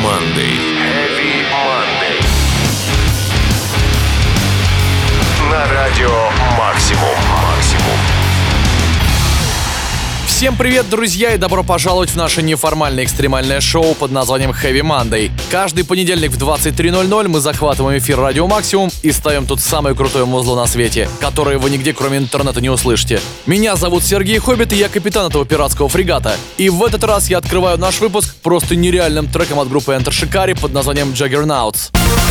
Monday. Heavy Monday. На радио Максимум. Всем привет, друзья, и добро пожаловать в наше неформальное экстремальное шоу под названием Heavy Monday. Каждый понедельник в 23:00 мы захватываем эфир Радио Максимум и ставим тут самое крутое музло на свете, которое вы нигде кроме интернета не услышите. Меня зовут Сергей Хоббит, и я капитан этого пиратского фрегата. И в этот раз я открываю наш выпуск просто нереальным треком от группы Enter Shikari под названием Juggernauts.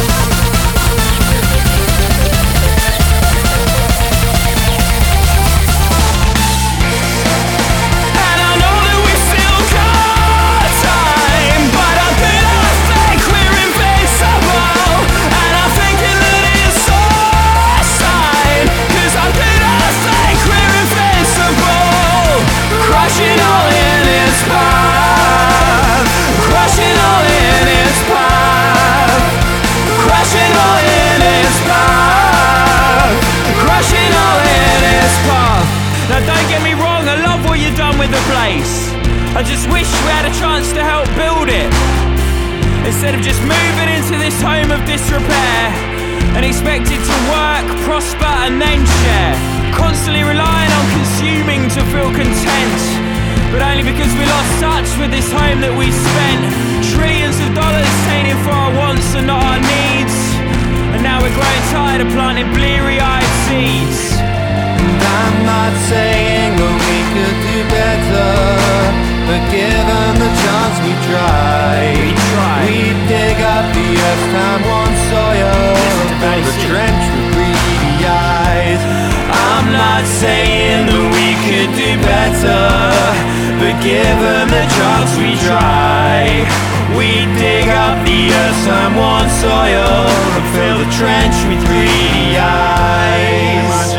I just wish we had a chance to help build it, instead of just moving into this home of disrepair and expected to work, prosper and then share. Constantly relying on consuming to feel content, but only because we lost touch with this home that we spent trillions of dollars taking for our wants and not our needs. And now we're growing tired of planting bleary-eyed seeds. And I'm not saying that we could do better, but given the chance we try. We dig up the earth's time-worn soil, build a trench with greedy eyes. I'm not saying that we could do better, but given the chance we try. We dig up the earth's time-worn soil and fill the trench with greedy eyes.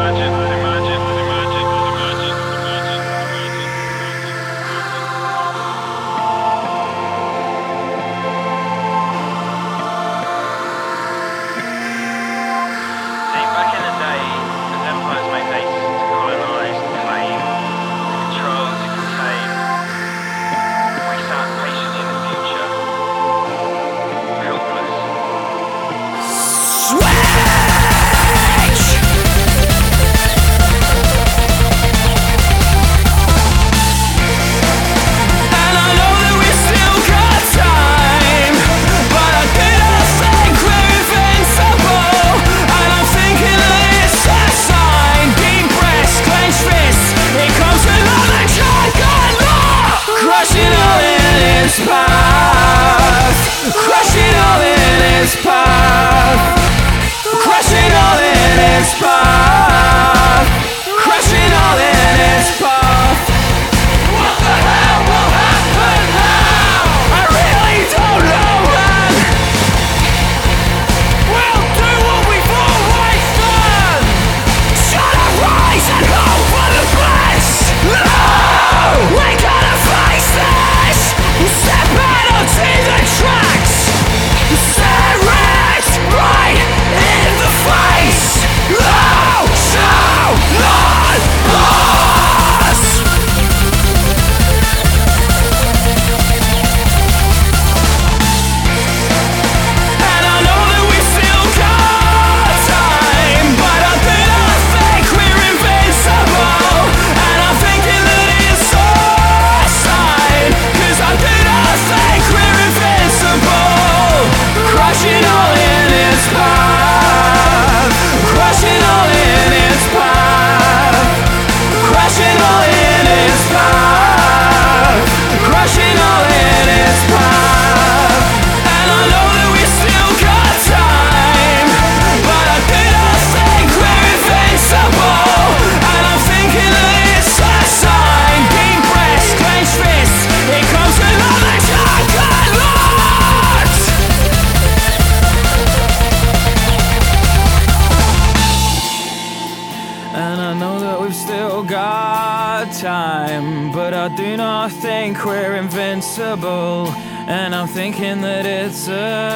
And I'm thinking that it's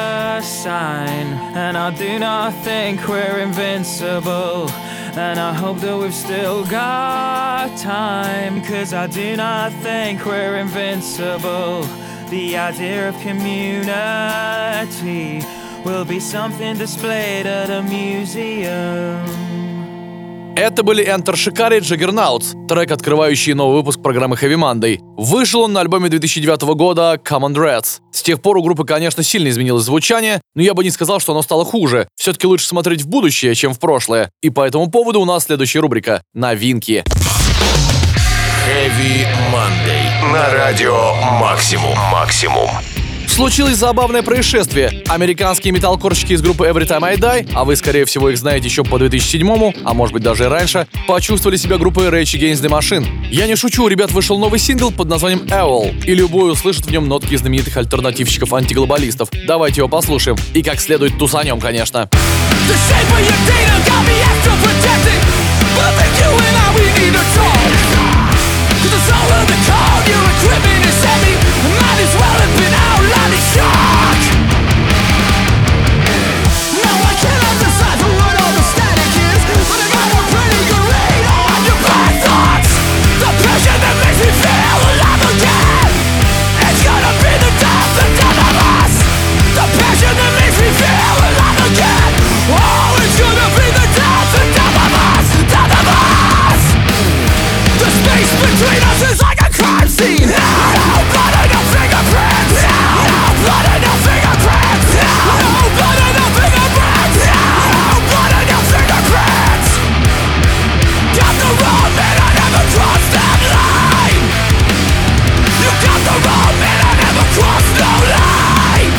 a sign. And I do not think we're invincible. And I hope that we've still got time, 'cause I do not think we're invincible. The idea of community will be something displayed at a museum. Это были Enter Shikari Juggernauts, трек, открывающий новый выпуск программы Heavy Monday. Вышел он на альбоме 2009 года Common Dreads. С тех пор у группы, конечно, сильно изменилось звучание, но я бы не сказал, что оно стало хуже. Все-таки лучше смотреть в будущее, чем в прошлое. И по этому поводу у нас следующая рубрика «Новинки». Heavy Monday на радио Максимум. Случилось забавное происшествие. Американские металлкорщики из группы Every Time I Die, а вы, скорее всего, их знаете еще по 2007-му, а может быть даже и раньше, почувствовали себя группой Rage Against the Machine. Я не шучу, у ребят вышел новый сингл под названием Owl, и любой услышит в нем нотки знаменитых альтернативщиков-антиглобалистов. Давайте его послушаем. И как следует тусанем, конечно. Shock! Now I cannot decipher what all the static is, but I got a pretty good read on your bad thoughts. The passion that makes me feel alive again. It's gonna be the death of us. The passion that makes me feel alive again. Oh, it's gonna be the death of us. The space between us is like a crime scene. No blood and no fingerprints. No blood and no fingerprints. No blood and no fingerprints. No blood and no fingerprints. Got the wrong man, I never crossed that line. You got the wrong man, I never crossed no line.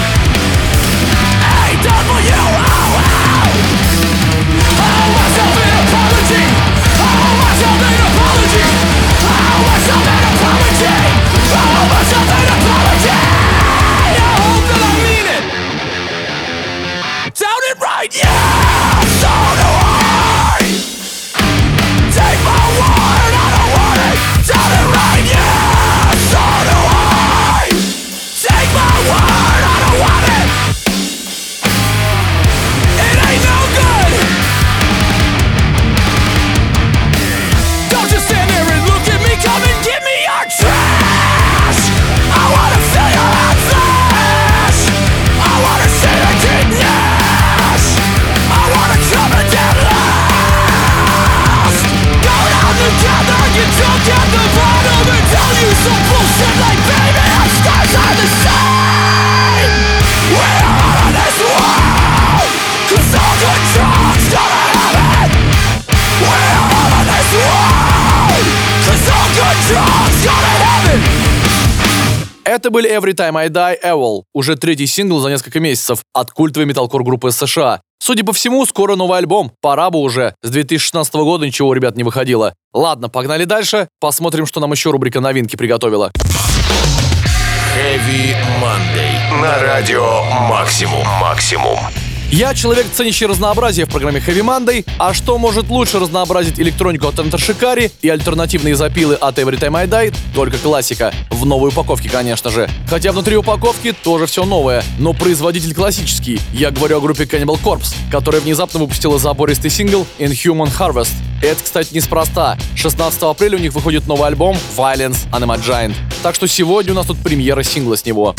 A-W-O-L. Owe myself an apology. Owe myself an apology. Owe myself an apology. Owe myself an apology. I hope that I mean it. Sound it right, yeah. So do I. Take my word, I don't want it. Sound it right, yeah. So do I. Take my word, I don't want it. It ain't no good. Don't just stand there and look at me. Come and give me your trash. I wanna feel your hot flesh. I wanna see your deep gnash. I wanna come and get lost. Go down together, get drunk at the bottom and tell you some bullshit like, baby, our stars are the same. We're out of this world, 'cause all good drugs gonna have it. We're out of this world, 'cause all good drugs gonna have it. Это были Every Time I Die Owl, уже третий сингл за несколько месяцев от культовой металкор группы США. Судя по всему, скоро новый альбом, пора бы уже. С 2016 года ничего у ребят не выходило. Ладно, погнали дальше, посмотрим, что нам еще рубрика новинки приготовила. Heavy Monday на радио Максимум. Я человек, ценящий разнообразие в программе Heavy Monday, а что может лучше разнообразить электронику от Enter Shikari и альтернативные запилы от Every Time I Die? Только классика. В новой упаковке, конечно же. Хотя внутри упаковки тоже все новое, но производитель классический. Я говорю о группе Cannibal Corpse, которая внезапно выпустила забористый сингл Inhuman Harvest. Это, кстати, неспроста. 16 апреля у них выходит новый альбом Violence Anima Giant. Так что сегодня у нас тут премьера сингла с него.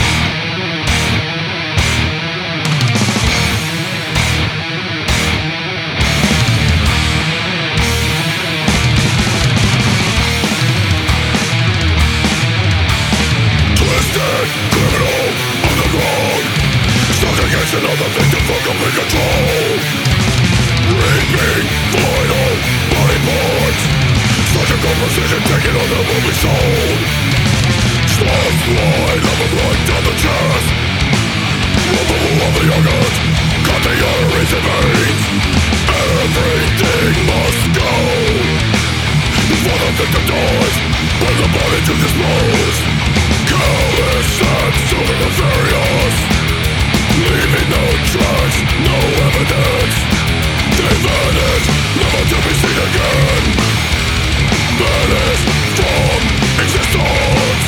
Another victim for complete control. Reaping vital body parts. Surgical precision taken on the movie soul. Slow slide of a blood down the chest. Removal of the organs. Cut the arteries and veins. Everything must go before the victim dies. Bring the body to dispose. Careless and super nefarious. Leaving no trace, no evidence. They vanish, never to be seen again. Vanish from existence.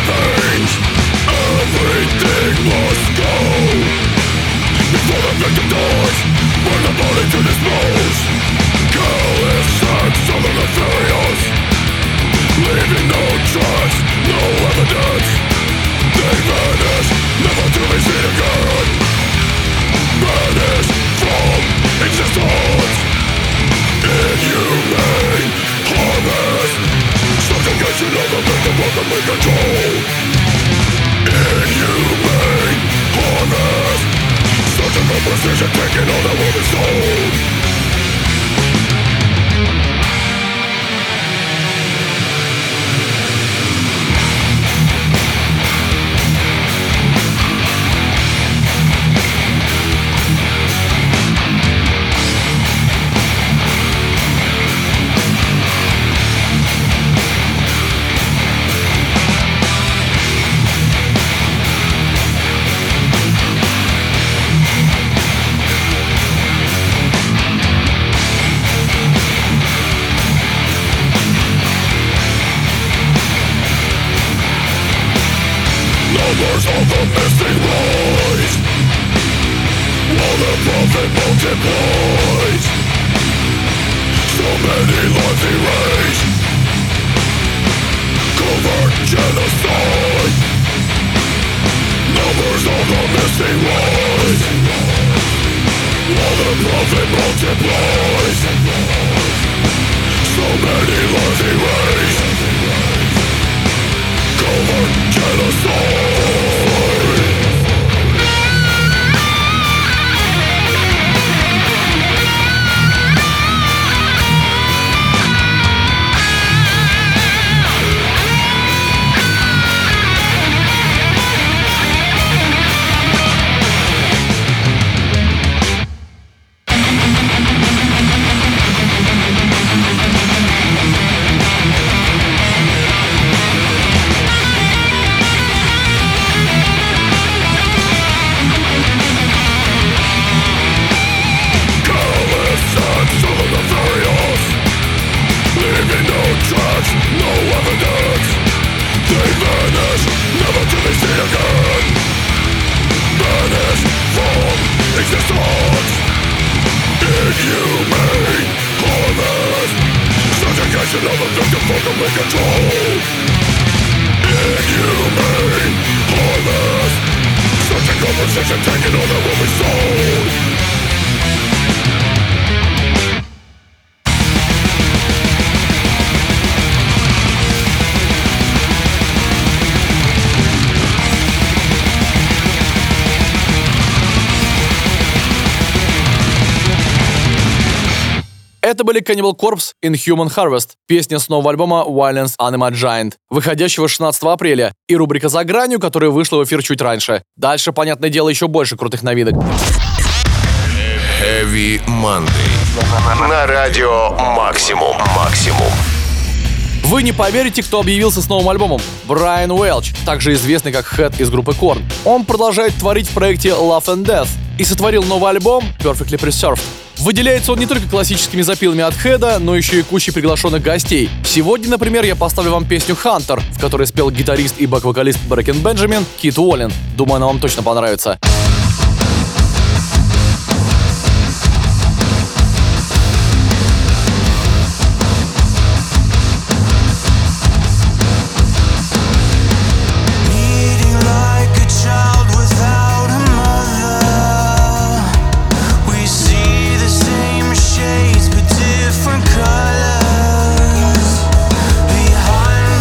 veins. Everything must go before the victim dies. Burn the body to dispose. Careless acts of the nefarious, leaving no trace, no evidence. They vanish, never to be seen again. Vanish from existence. Inhumane, harmless subjugation of the victim ultimately control. Inhumane, harmless surgical precision taking all that will be sold. Numbers of the missing rise, while the prophet multiplies. So many lives erased, covert genocide. Numbers of the missing rise, while the prophet multiplies. So many lives erased, covert genocide. No evidence. They vanish, never to be seen again. Vanish from existence. Inhumane, harmless subjugation of the victim for complete control. Inhumane, harmless surgical precision taking all that will be sold. Это были Cannibal Corpse Inhuman Harvest, песня с нового альбома Violence Anima Giant, выходящего 16 апреля, и рубрика «За гранью», которая вышла в эфир чуть раньше. Дальше, понятное дело, еще больше крутых новинок. Heavy Monday. На радио Максимум. Вы не поверите, кто объявился с новым альбомом. Брайан Уэлч, также известный как Head из группы Korn. Он продолжает творить в проекте Love and Death и сотворил новый альбом Perfectly Preserved. Выделяется он не только классическими запилами от Хеда, но еще и кучей приглашенных гостей. Сегодня, например, я поставлю вам песню «Hunter», в которой спел гитарист и бэк-вокалист Брэкен Бенджамин Кит Уоллен. Думаю, она вам точно понравится.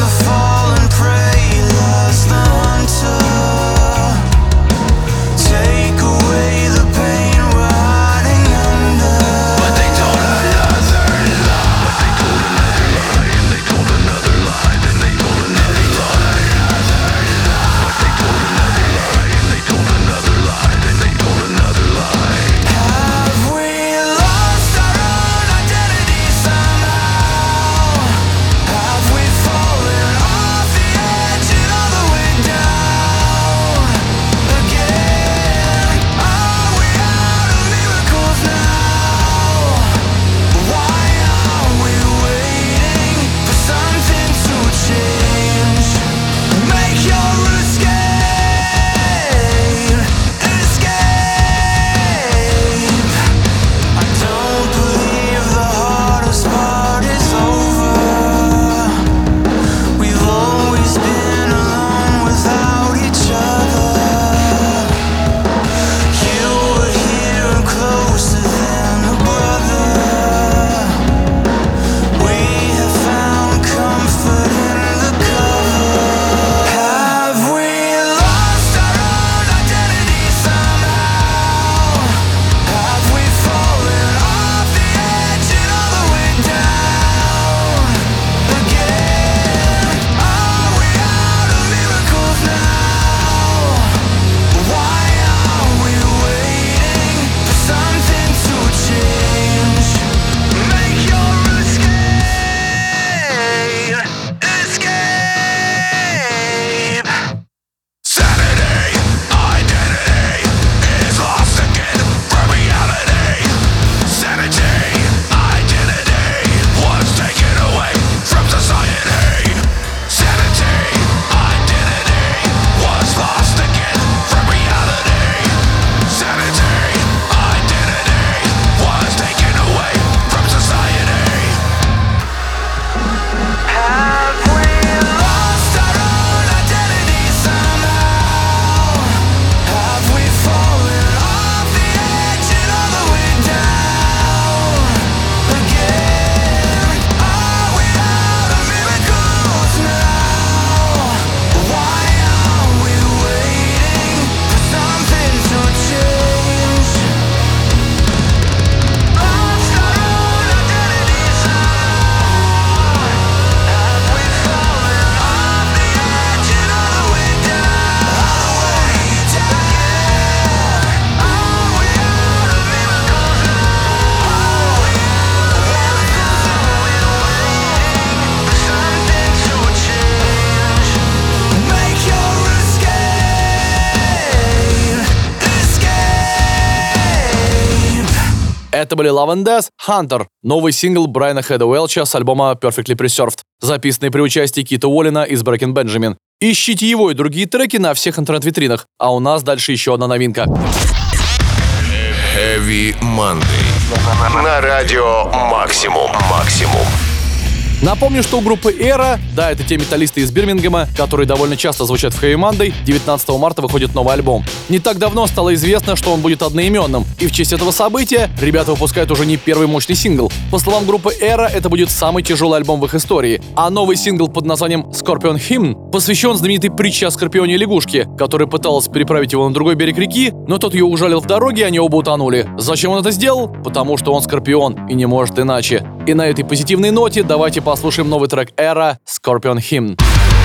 Take Это были Love and Death, Hunter, новый сингл Брайана Хеда Уэлча с альбома Perfectly Preserved, записанный при участии Кита Уоллина из Breaking Benjamin. Ищите его и другие треки на всех интернет-витринах, а у нас дальше еще одна новинка. Heavy Monday. На радио Максимум. Напомню, что у группы Era, да, это те металлисты из Бирмингема, которые довольно часто звучат в Heavy Monday, 19 марта выходит новый альбом. Не так давно стало известно, что он будет одноименным, и в честь этого события ребята выпускают уже не первый мощный сингл. По словам группы Era, это будет самый тяжелый альбом в их истории, а новый сингл под названием Scorpion Hymn посвящен знаменитой притче о скорпионе и лягушке, которая пыталась переправить его на другой берег реки, но тот ее ужалил в дороге, и они оба утонули. Зачем он это сделал? Потому что он скорпион и не может иначе. И на этой позитивной ноте давайте послушаем новый трек Era Scorpion Hymn.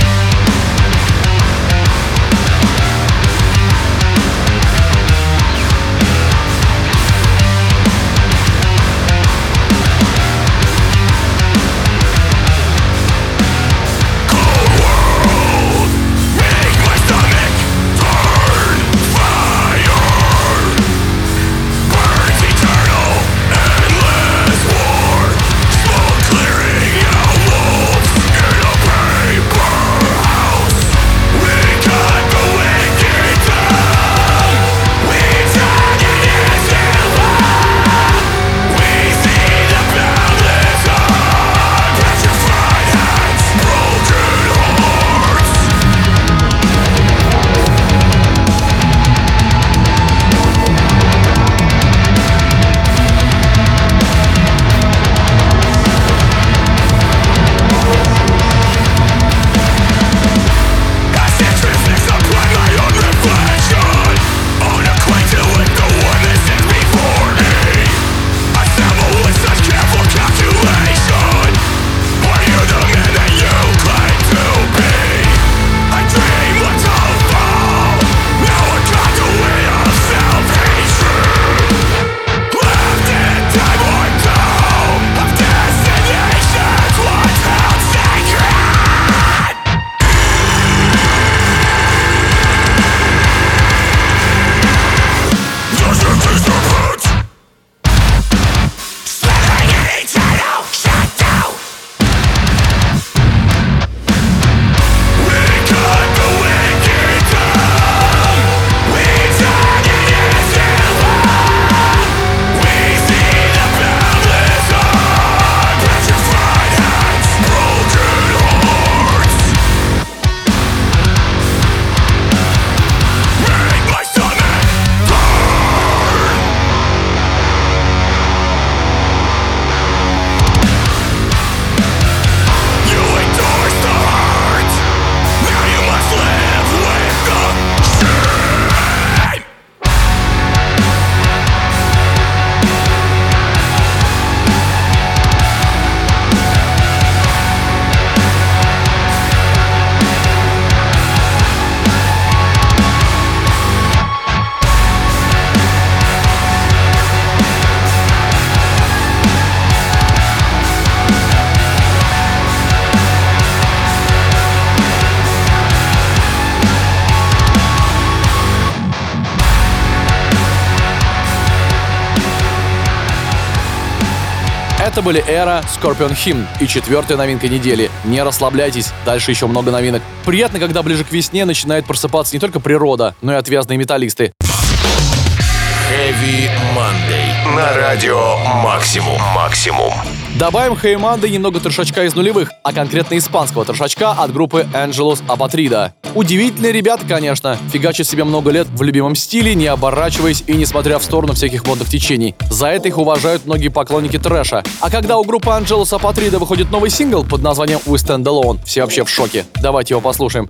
Это были Era Scorpion Hymn и четвертая новинка недели. Не расслабляйтесь, дальше еще много новинок. Приятно, когда ближе к весне начинает просыпаться не только природа, но и отвязные металлисты. Heavy Monday. На радио Максимум. Добавим Heavy Monday немного трешачка из нулевых, а конкретно испанского трешачка от группы Angelus Apatrida. Удивительные ребята, конечно, фигачат себе много лет в любимом стиле, не оборачиваясь и не смотря в сторону всяких модных течений. За это их уважают многие поклонники трэша. А когда у группы Angelus Apatrida выходит новый сингл под названием We Stand Alone, все вообще в шоке. Давайте его послушаем.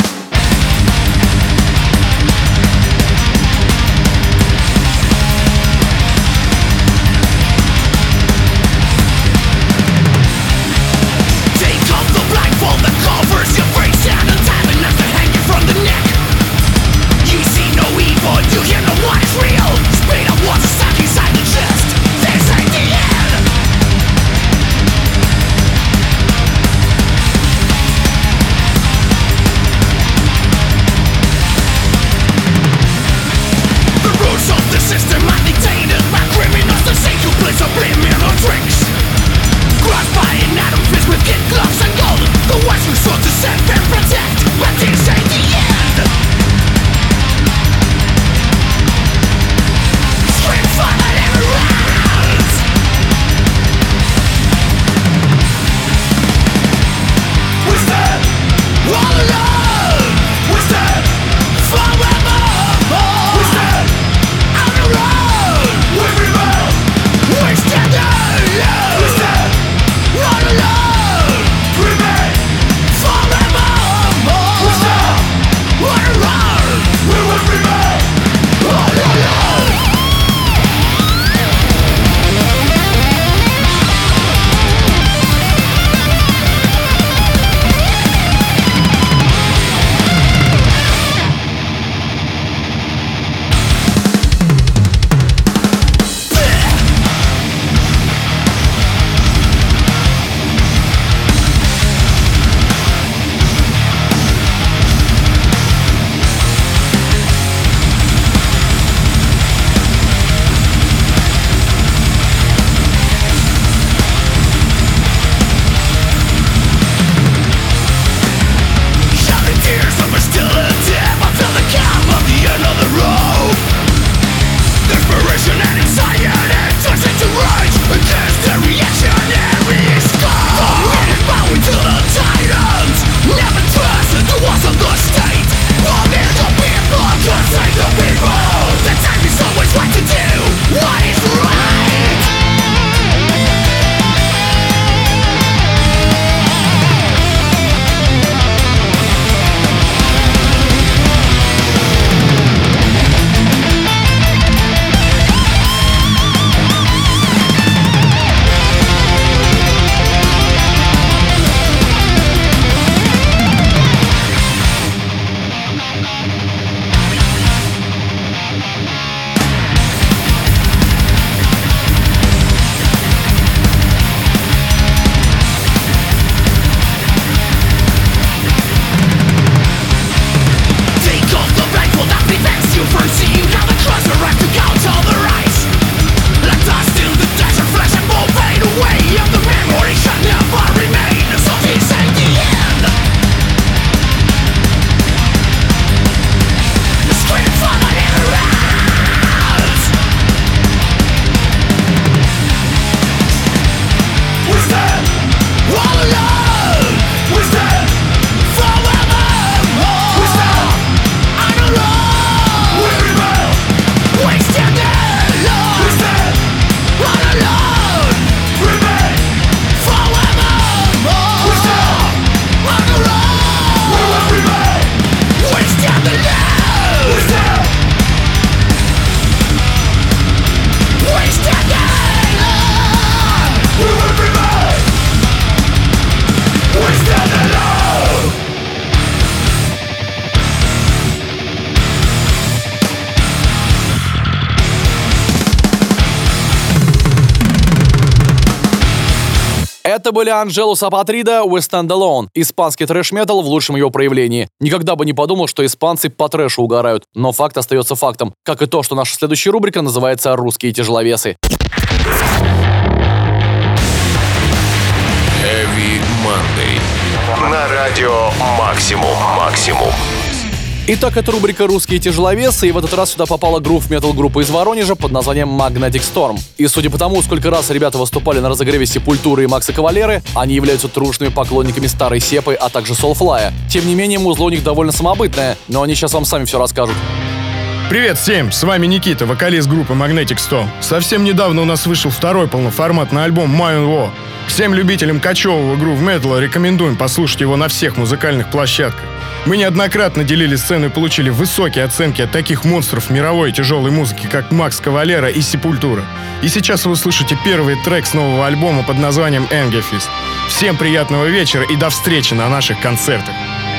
Inside the chest. Это были Angelus Apatrida, We Stand Alone. Испанский трэш-метал в лучшем его проявлении. Никогда бы не подумал, что испанцы по трэшу угорают. Но факт остается фактом. Как и то, что наша следующая рубрика называется «Русские тяжеловесы». Heavy Monday. На радио Максимум. Итак, это рубрика «Русские тяжеловесы», и в этот раз сюда попала грув-метал группа из Воронежа под названием Magnetic Storm. И судя по тому, сколько раз ребята выступали на разогреве Сепультуры и Макса Кавалеры, они являются трушными поклонниками старой Сепы, а также Soulfly. Тем не менее, музло у них довольно самобытное, но они сейчас вам сами все расскажут. Привет всем, с вами Никита, вокалист группы Magnetic Storm. Совсем недавно у нас вышел второй полноформатный альбом My Own War. Всем любителям кочевого грув-металла рекомендуем послушать его на всех музыкальных площадках. Мы неоднократно делили сцену и получили высокие оценки от таких монстров мировой тяжелой музыки, как Макс Кавалера и Сепультура. И сейчас вы услышите первый трек с нового альбома под названием Angefist. Всем приятного вечера и до встречи на наших концертах.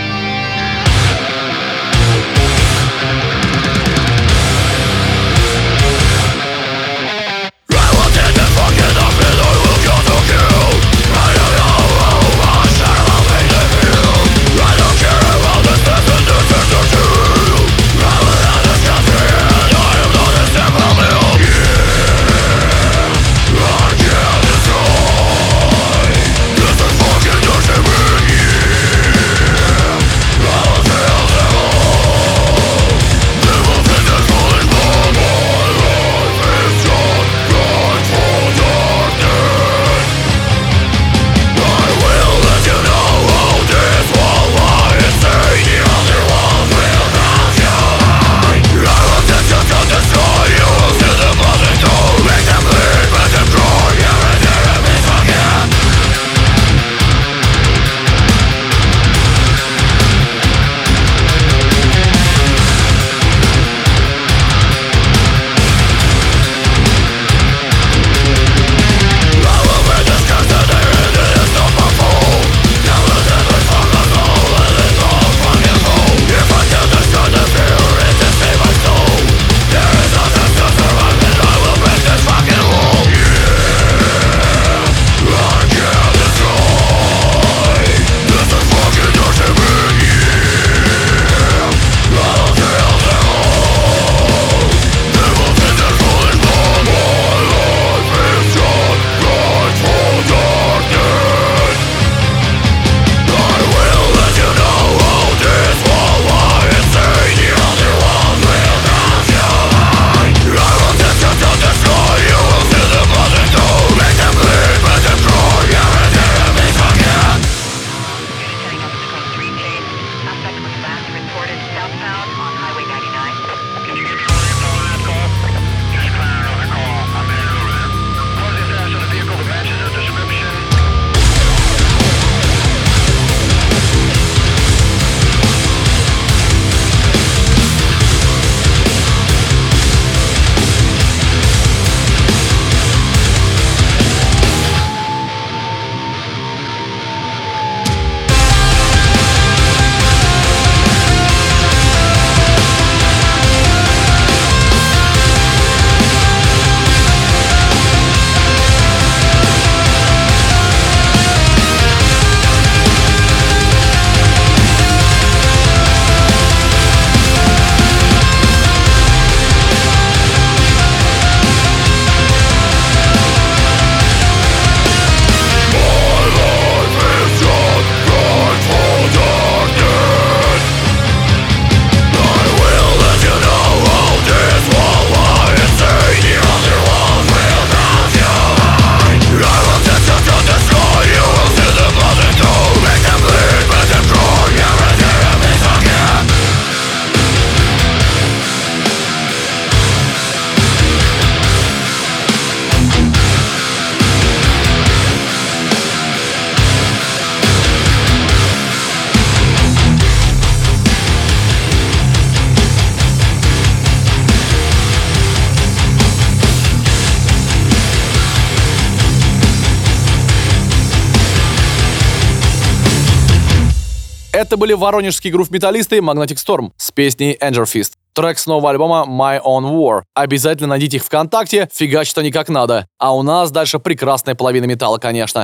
Это были воронежские грув-металлисты Magnetic Storm с песней Angefist. Трек с нового альбома My Own War. Обязательно найдите их ВКонтакте, фигачат они как надо. А у нас дальше прекрасная половина металла, конечно.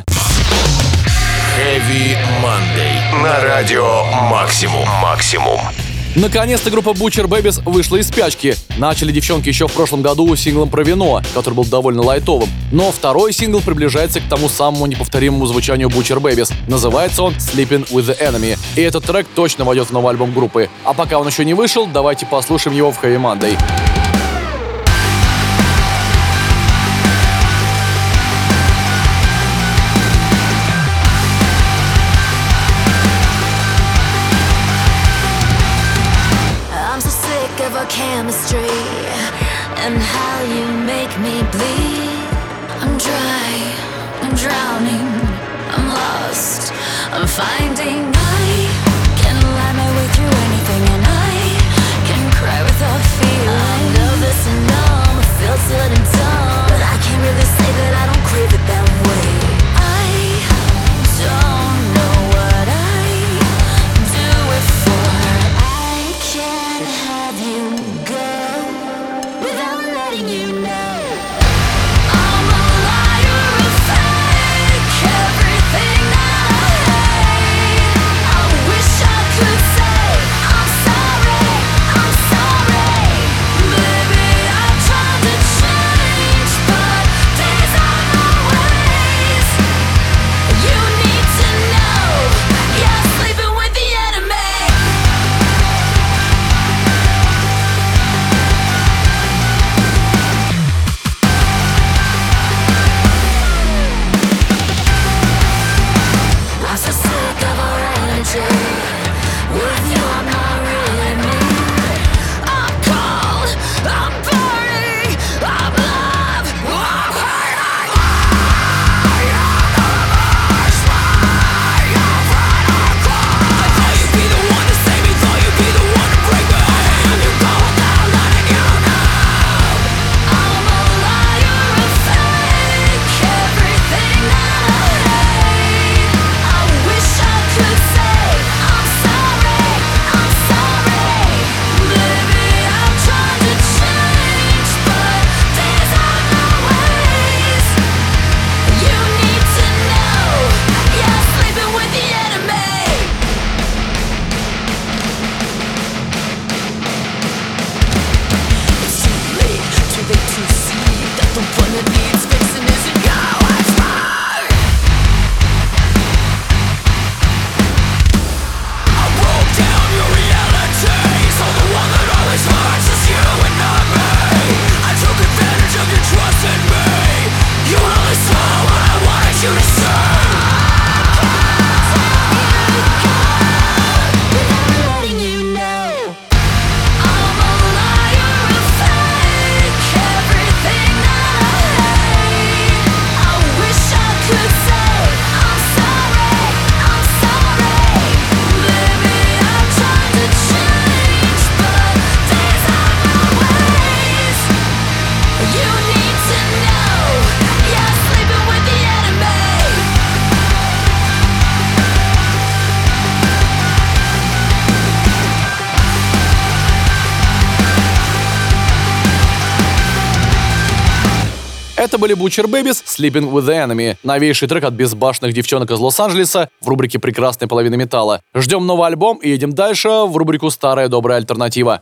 Heavy Monday. На радио Максимум. Наконец-то группа Butcher Babies вышла из спячки. Начали девчонки еще в прошлом году синглом про вино, который был довольно лайтовым. Но второй сингл приближается к тому самому неповторимому звучанию Butcher Babies. Называется он Sleeping with the Enemy. И этот трек точно войдет в новый альбом группы. А пока он еще не вышел, давайте послушаем его в Heavy Monday. Chemistry and how you make me bleed. I'm dry, I'm drowning, I'm lost, I'm finding I can lie my way through anything and I can cry without fear. I'm nervous and numb, feel silly and dumb, but I can't really say that I don't crave it that way. I don't know what I do it for. I can't have you you know I'm a liar, a fake, everything that I hate. I wish I could say I'm sorry, maybe I've tried to change, but these are my ways. You need to know you're sleeping with the enemy. With you I'm not really me. I'm cold, I'm burning, I'm love, I'm hurting. I thought you'd be the one to save me, thought you'd be the one to break my hand. You go without letting you know I'm a liar, a fake, everything that I hate. I wish I could say Это были Butcher Babies, Sleeping with the Enemy. Новейший трек от безбашенных девчонок из Лос-Анджелеса в рубрике «Прекрасная половина металла». Ждем новый альбом и едем дальше в рубрику «Старая добрая альтернатива».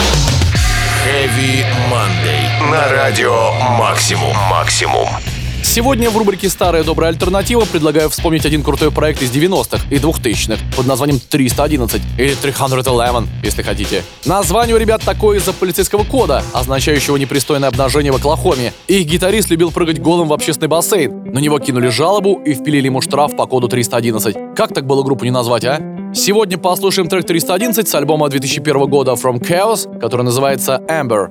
Heavy Monday. На радио Максимум. Сегодня в рубрике «Старая добрая альтернатива» предлагаю вспомнить один крутой проект из 90-х и 2000-х под названием 311 или 311, если хотите. Название у ребят такое из-за полицейского кода, означающего непристойное обнажение в Оклахоме. Их гитарист любил прыгать голым в общественный бассейн. На него кинули жалобу и впилили ему штраф по коду 311. Как так было группу не назвать, а? Сегодня послушаем трек 311 с альбома 2001 года From Chaos, который называется Amber.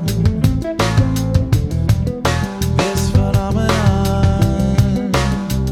This phenomenon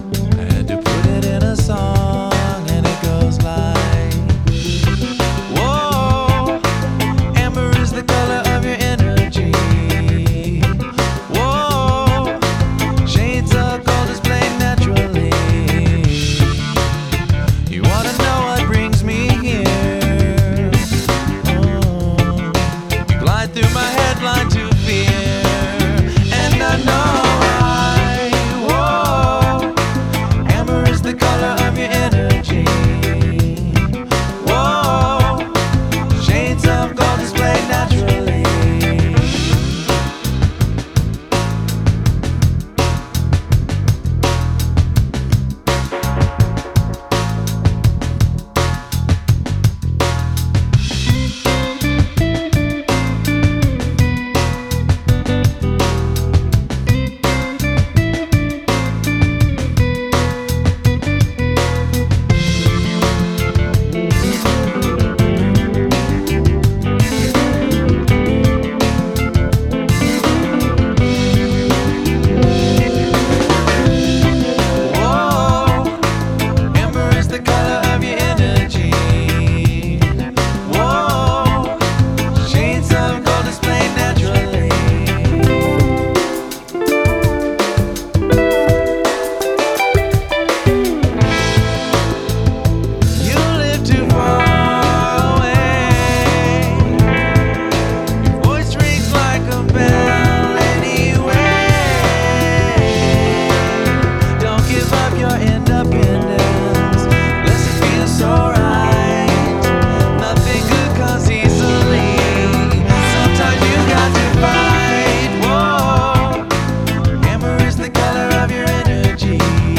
the color of your energy? Whoa, shades of gold displayed naturally. You live too far away. Your voice rings like a bell anyway. Don't give up your independence, unless it feels so right. Nothing good comes easily. Sometimes you got to fight. Whoa, amber is the color of your energy.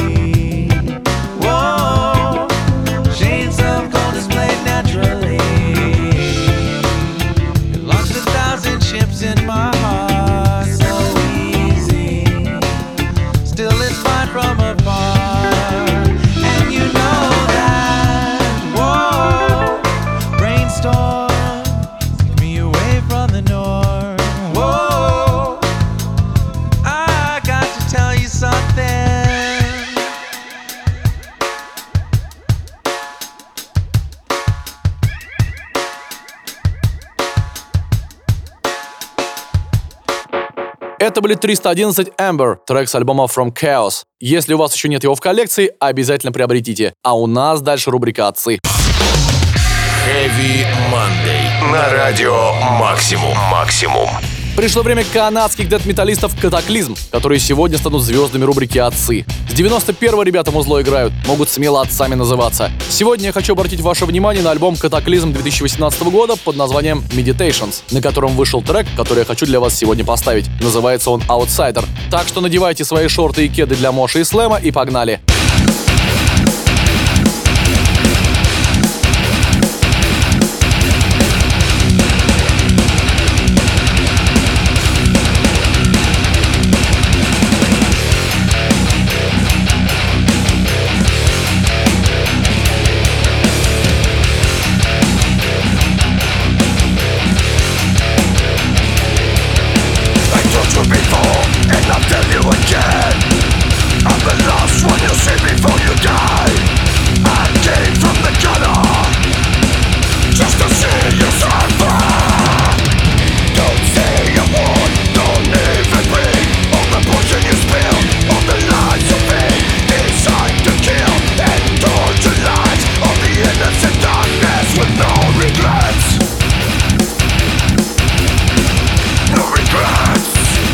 Whoa, shades of gold displayed naturally. You launched 1,000 ships in my heart, so easy. Still it's fine from afar, and you know that. Whoa, brainstorm, take me away from the norm. Whoa, I got to tell you something. Это были 311 Amber, трек с альбома From Chaos. Если у вас еще нет его в коллекции, обязательно приобретите. А у нас дальше рубрика «Отцы». Heavy Monday. На радио Максимум. Максимум. Пришло время канадских дэт-металлистов «Катаклизм», которые сегодня станут звездами рубрики «Отцы». С 91-го ребята музло играют, могут смело отцами называться. Сегодня я хочу обратить ваше внимание на альбом «Катаклизм» 2018 года под названием «Meditations», на котором вышел трек, который я хочу для вас сегодня поставить. Называется он «Outsider». Так что надевайте свои шорты и кеды для моши и слэма и погнали. I told you before, and I'll tell you again. I'm the last one you see before you die. I came from the gutter, just to see you suffer. Don't say a word, don't even breathe. All the poison you spill, all the lies you feed, designed to kill and torture lives of the innocent darkness with no regrets. No regrets.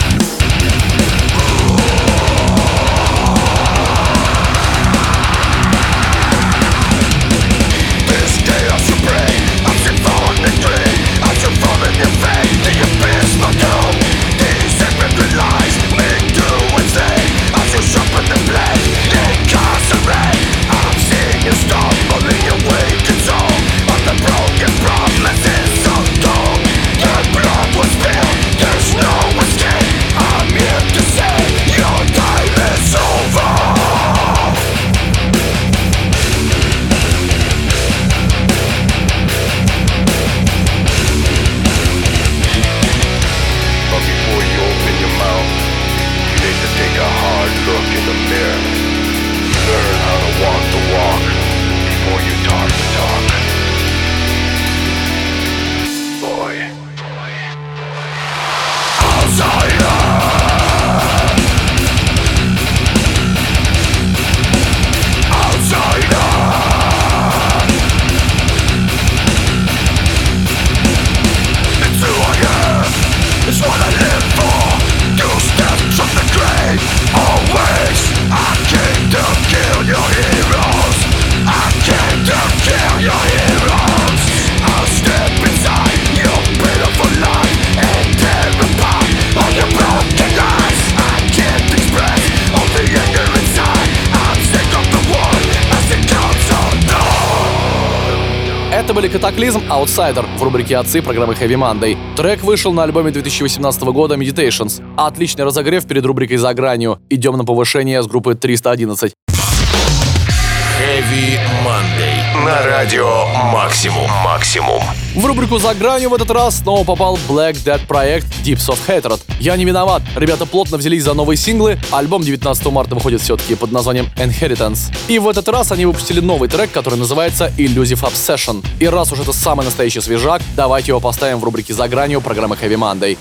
This chaos you bring, I'm symphonically, as you fall in your fate, the abysmal doom. These sacred lies make do insane, as you sharpen the blade, incarcerate. I'm seeing you stumbling your wicked soul, on the broken promises of doom. Your blood was spilled, there's no escape. I'm here to say your time is over. But before you open your mouth, you need to take a hard look in the mirror. Learn how to walk the walk before you talk the talk. Boy. Outsider. Outsider. It's who I am, it's what I live for. Two steps from the grave, always. I came to kill your heroes. I came to kill your heroes. I'll step inside your pitiful life and tear apart all your broken lies. I can't express all the anger inside. I'm sick of the war as it comes undone. Это были «Катаклизм», «Outsider» в рубрике «Отцы» программы Heavy Monday. Трек вышел на альбоме 2018 года «Meditations». Отличный разогрев перед рубрикой «За гранью». Идем на повышение с группы 311. Heavy Monday. На радио «Максимум». «Максимум». В рубрику «За гранью» в этот раз снова попал Black Death проект Deeps of Hatred. Я не виноват. Ребята плотно взялись за новые синглы. Альбом 19 марта выходит все-таки под названием Inheritance. И в этот раз они выпустили новый трек, который называется Illusive Obsession. И раз уж это самый настоящий свежак, давайте его поставим в рубрике «За гранью» программы Heavy Monday.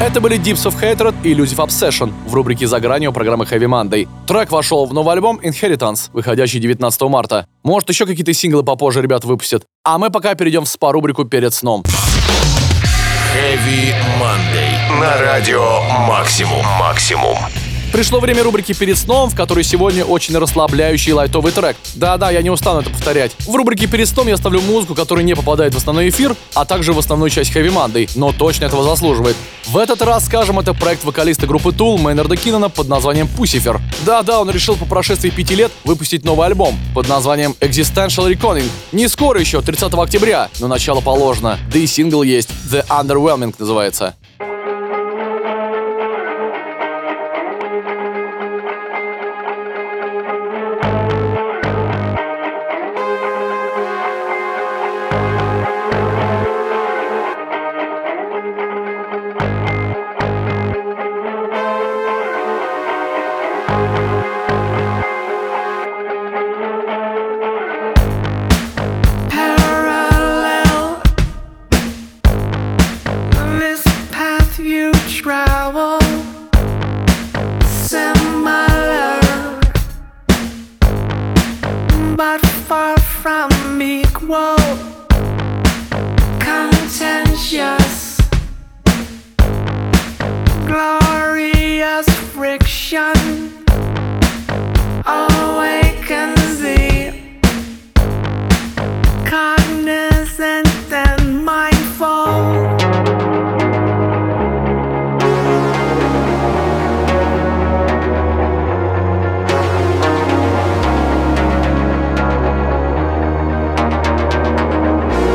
Это были Deeps of Hatred и Elusive Obsession в рубрике «За гранью» программы Heavy Monday. Трек вошел в новый альбом Inheritance, выходящий 19 марта. Может, еще какие-то синглы попозже ребята выпустят. А мы пока перейдем в спа-рубрику «Перед сном». Heavy Monday на радио Максимум. Пришло время рубрики «Перед сном», в которой сегодня очень расслабляющий лайтовый трек. Да-да, я не устану это повторять. В рубрике «Перед сном» я ставлю музыку, которая не попадает в основной эфир, а также в основную часть Heavy Monday, но точно этого заслуживает. В этот раз, скажем, это проект вокалиста группы Tool Мейнарда Киннона под названием Pussifer. Да-да, он решил по прошествии 5 лет выпустить новый альбом под названием Existential Reckoning. Не скоро еще, 30 октября, но начало положено. Да и сингл есть, The Underwhelming называется.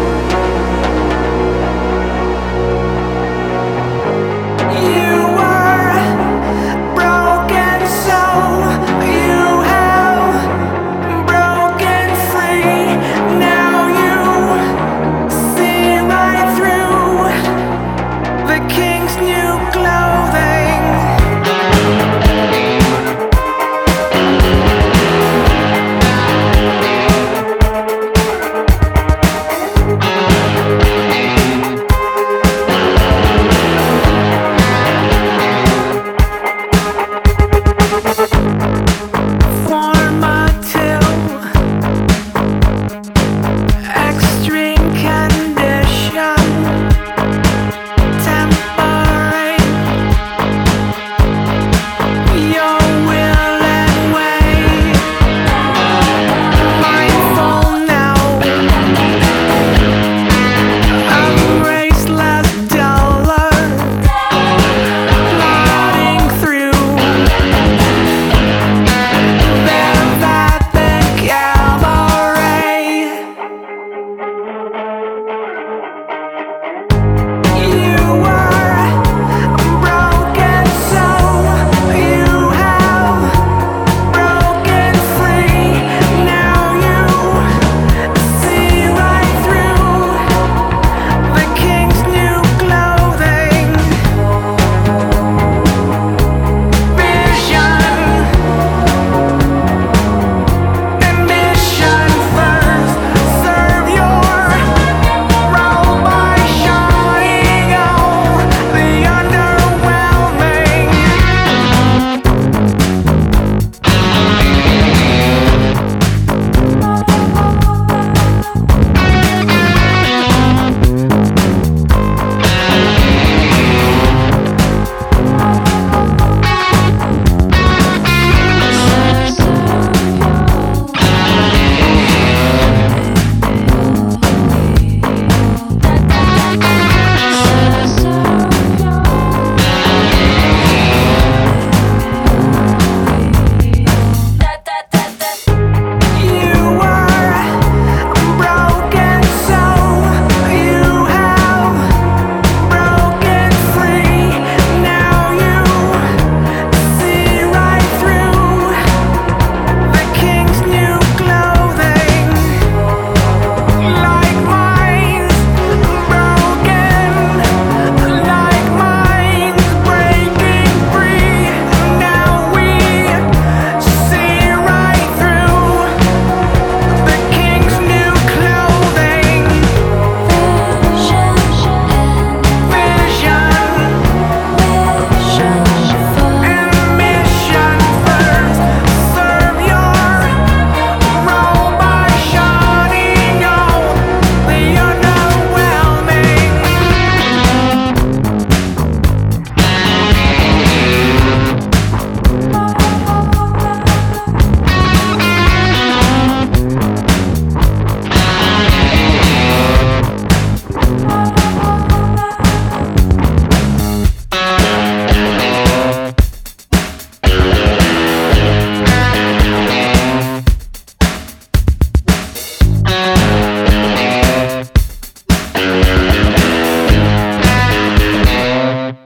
You are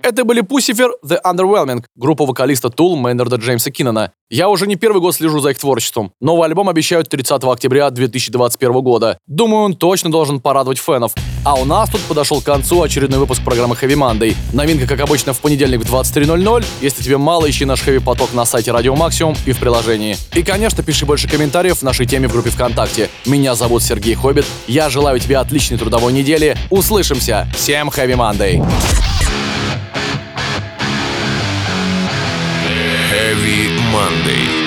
Это были Pussifer The Underwhelming, группа вокалиста Tool Мейнарда Джеймса Киннона. Я уже не первый год слежу за их творчеством. Новый альбом обещают 30 октября 2021 года. Думаю, он точно должен порадовать фенов. А у нас тут подошел к концу очередной выпуск программы Heavy Monday. Новинка, как обычно, в понедельник в 23:00. Если тебе мало, ищи наш Heavy поток на сайте Радио Максимум и в приложении. И, конечно, пиши больше комментариев в нашей теме в группе ВКонтакте. Меня зовут Сергей Хоббит. Я желаю тебе отличной трудовой недели. Услышимся. Всем Heavy Monday. Heavy Monday.